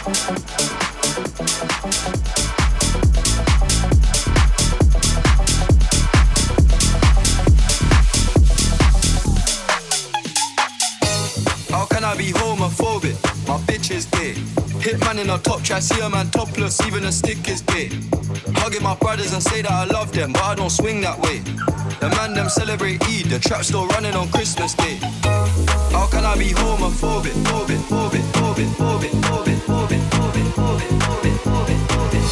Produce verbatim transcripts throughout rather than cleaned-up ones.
In a top try, see a man topless, even a stick is gay. Hugging my brothers and say that I love them, but I don't swing that way. The man them celebrate Eid, the trap still running on Christmas Day. How can I be homophobic, phobic, phobic, phobic, phobic, phobic, phobic, phobic, phobic, phobic, phobic, phobic.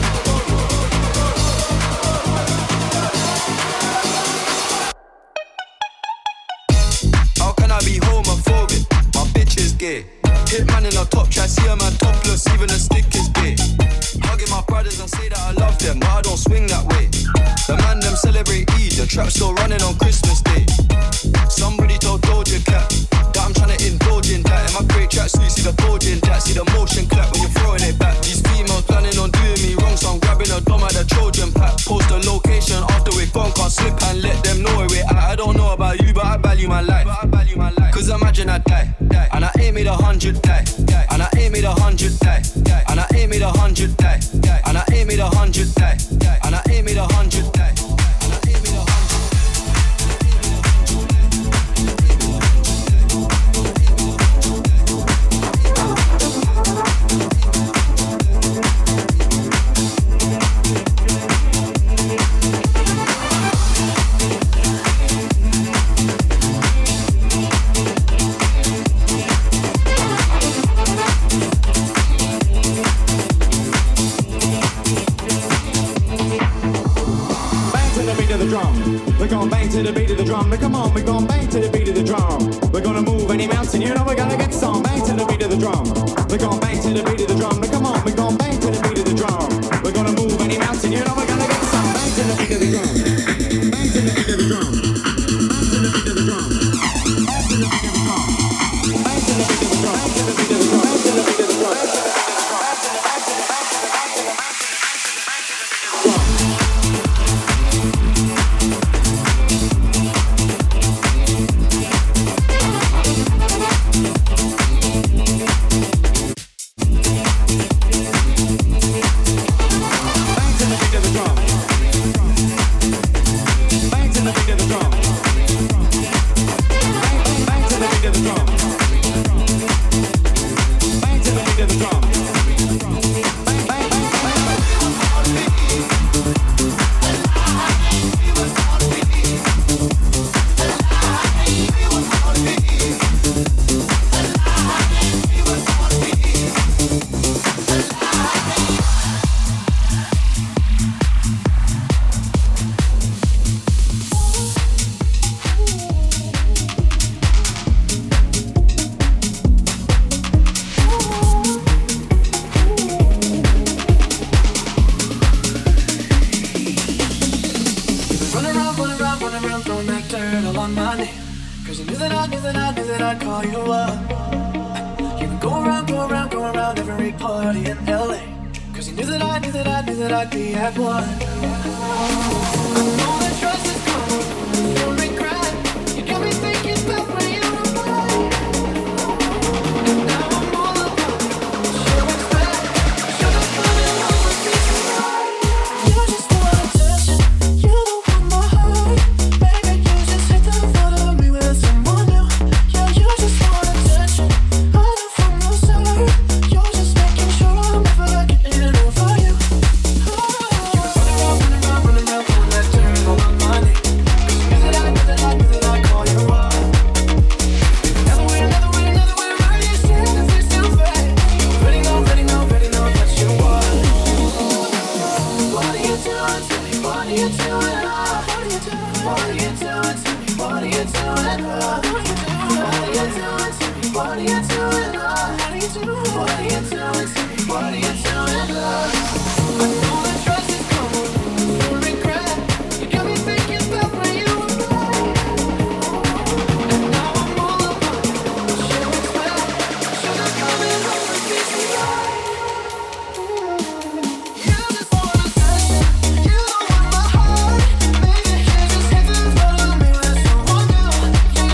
How can I be homophobic? My bitch is gay. Hit man in a top try, see a man topless, even a stick is gay. Hugging my brothers and say that I love them, but I don't swing that way. The man them celebrate Eid, the trap still running on Christmas Day. Somebody told Doja Cat that I'm trying to indulge in that. In my great track suit, see the bulge in that. See the motion clap when you're throwing it back. These females planning on doing me wrong, so I'm grabbing a dome at the Trojan pack. Post the location after we're gone, can't slip and let them know where we're at. I don't know about you, but I value my life. Cause imagine I die, and I ain't made a hundred die, and I ain't made a hundred die, and I ain't made a hundred die, and I ain't made a hundred die, and I ain't made a hundred die. To the beat of the drum, come on, we're gonna bang to the beat of the drum. We're gonna move any mountain, you know we're gonna get some. Bang to the beat of the drum. We're gonna bang to the beat of the drum. Come on, we're gonna bang to the beat of the drum. We're gonna move any mountain, you know we're gonna get some. Bang to the beat of the drum. Bang to the beat of the drum. Bang to the beat of the drum. Bang to the beat of the drum. Bang to the beat of the drum. Bang to the beat of the drum. Bang to the beat of the drum.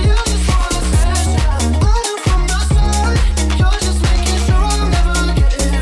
You're just making sure I'm never getting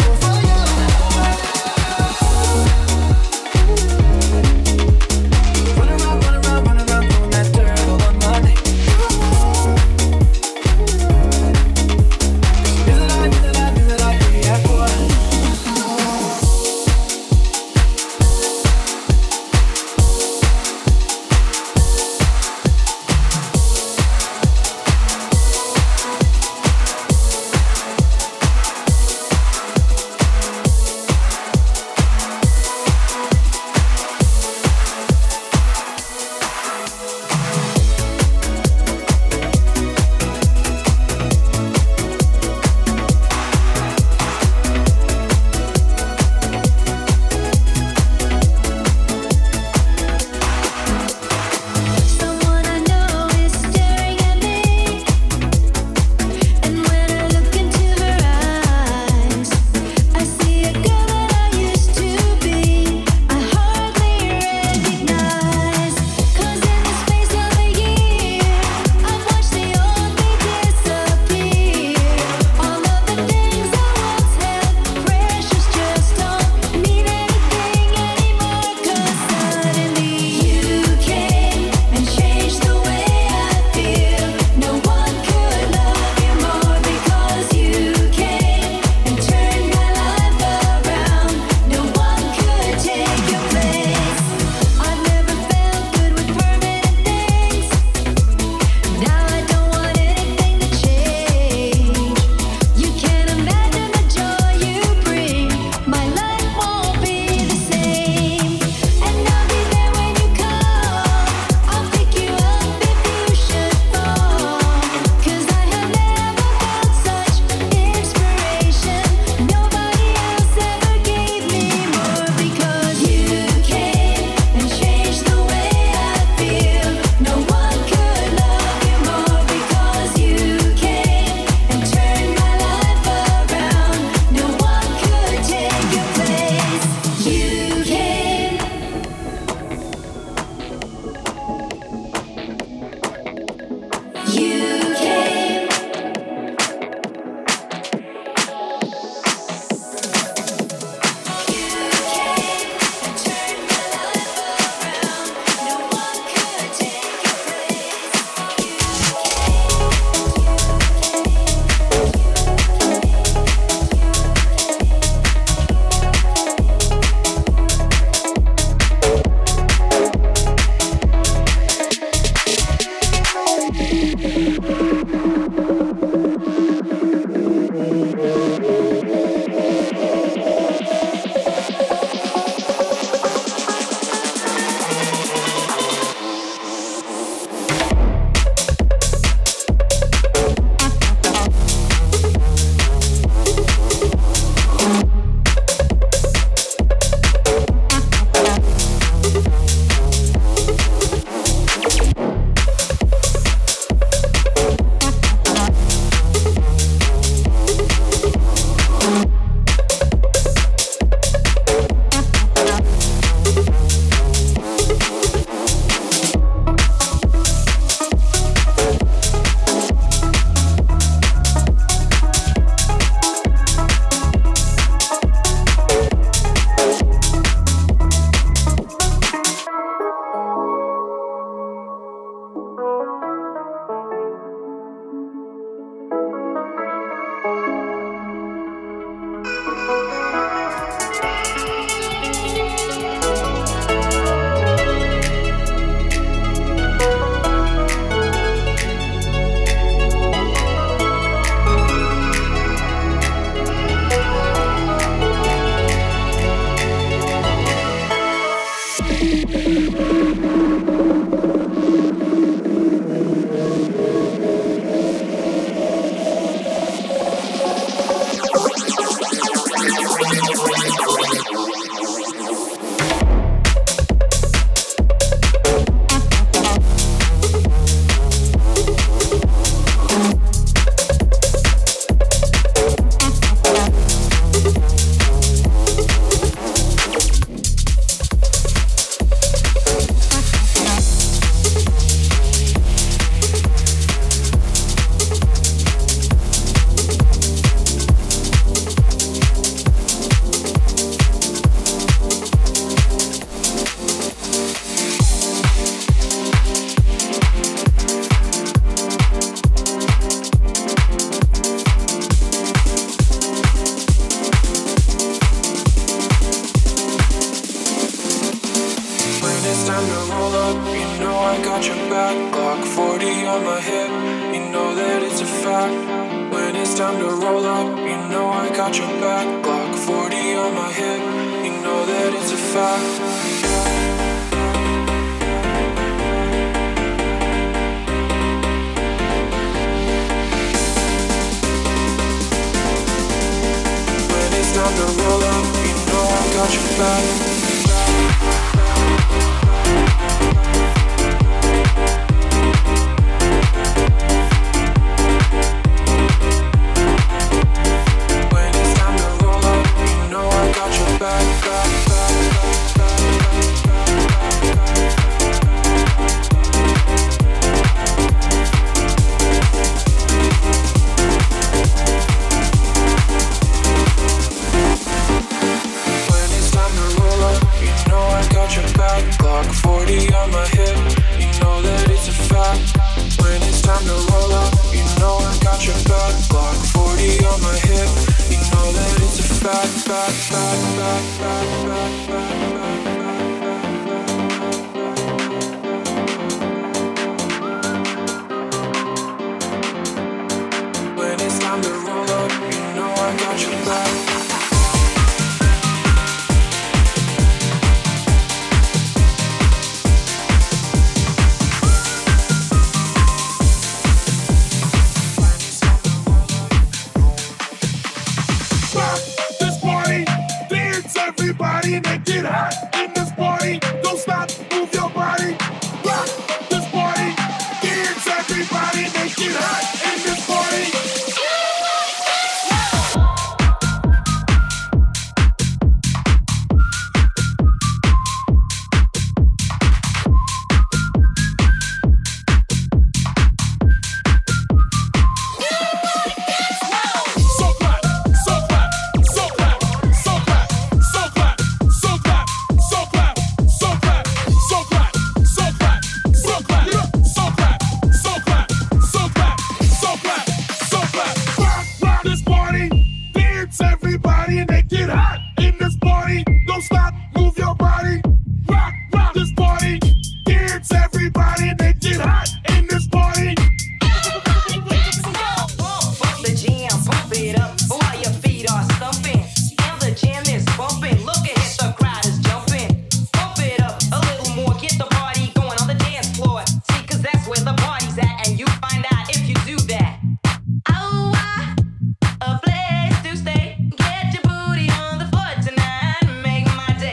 A place to stay. Get your booty on the floor tonight. Make my day.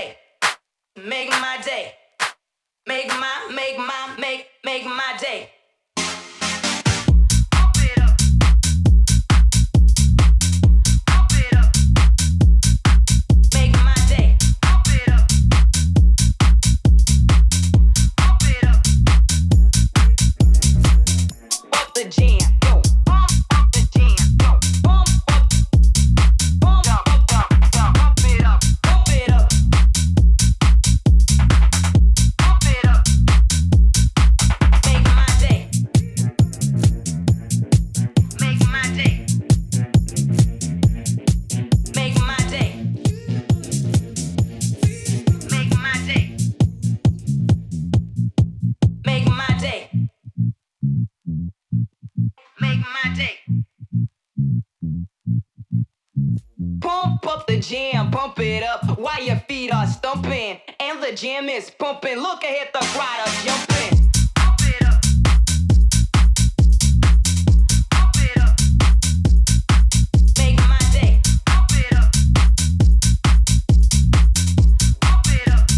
pump up the jam, pump it up while your feet are stumping. And the jam is pumping. Look ahead, the crowd are jumping. Pump it up. Pump it up. Make my day. Pump it up. Pump it up.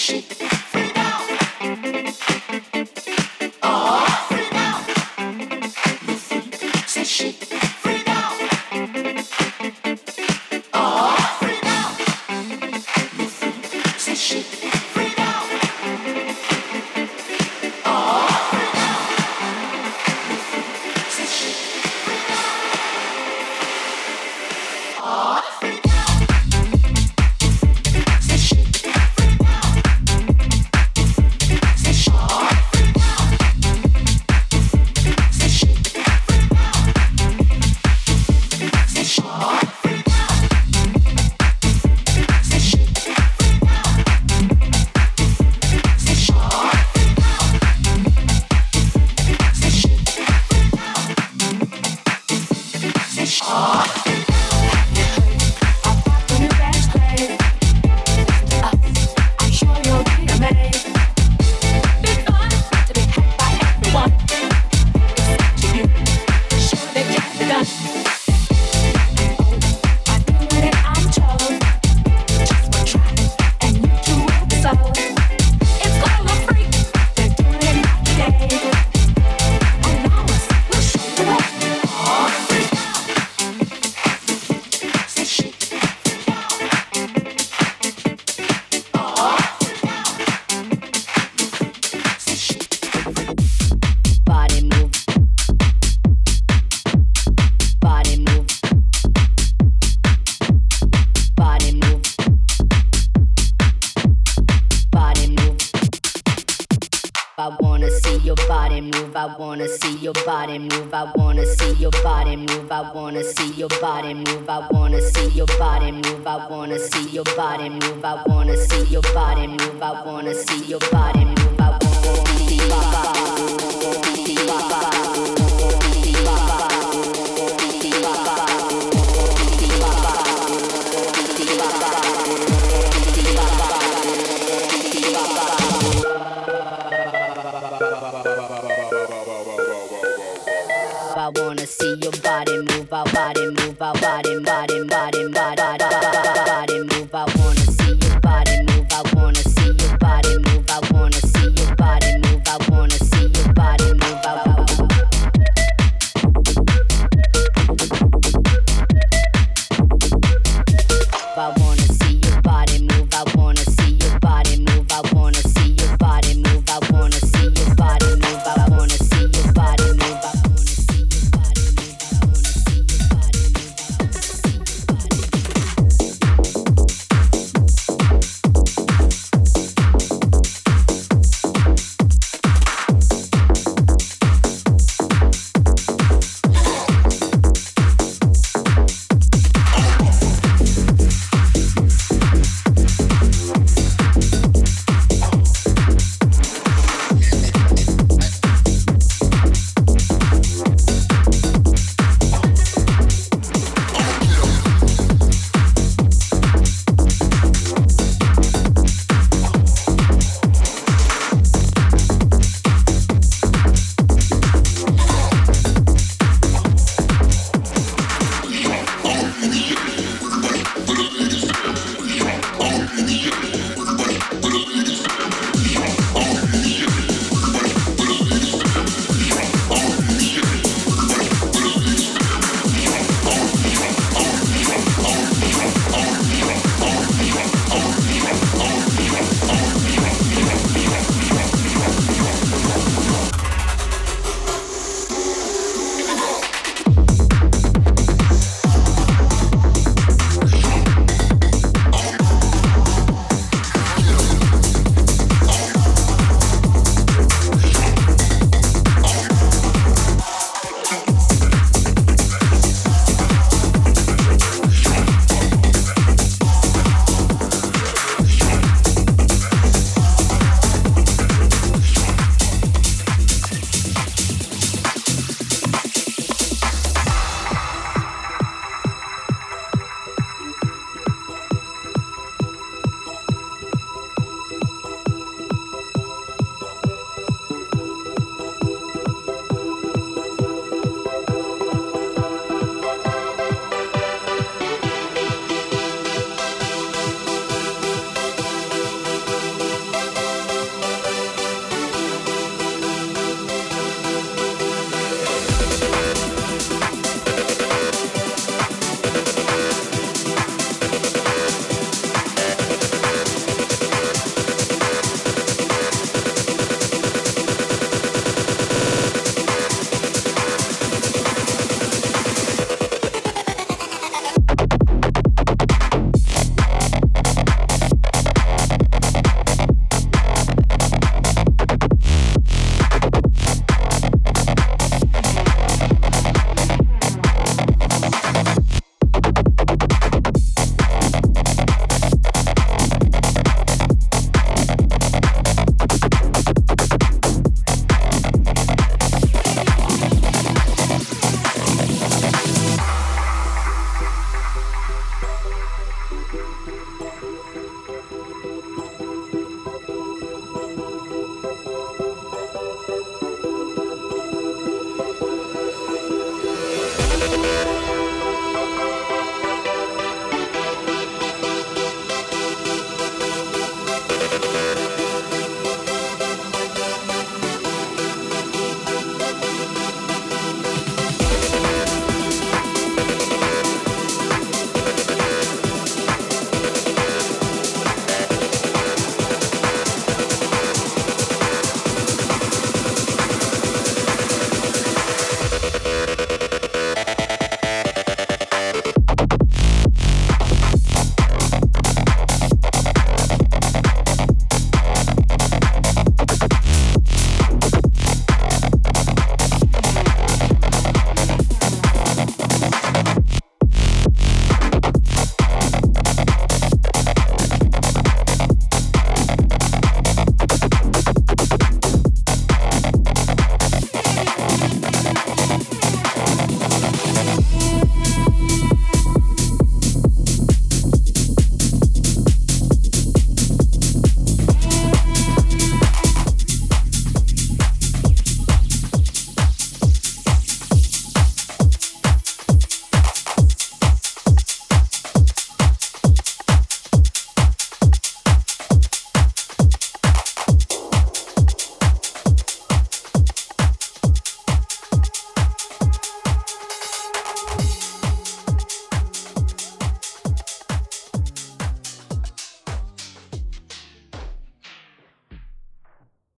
I wanna see your body move, our body move, our body, body, body, body, body, body.